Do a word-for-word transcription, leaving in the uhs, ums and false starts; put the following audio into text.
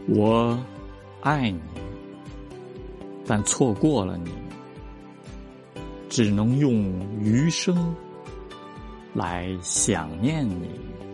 我爱你，但错过了你，只能用余生来想念你。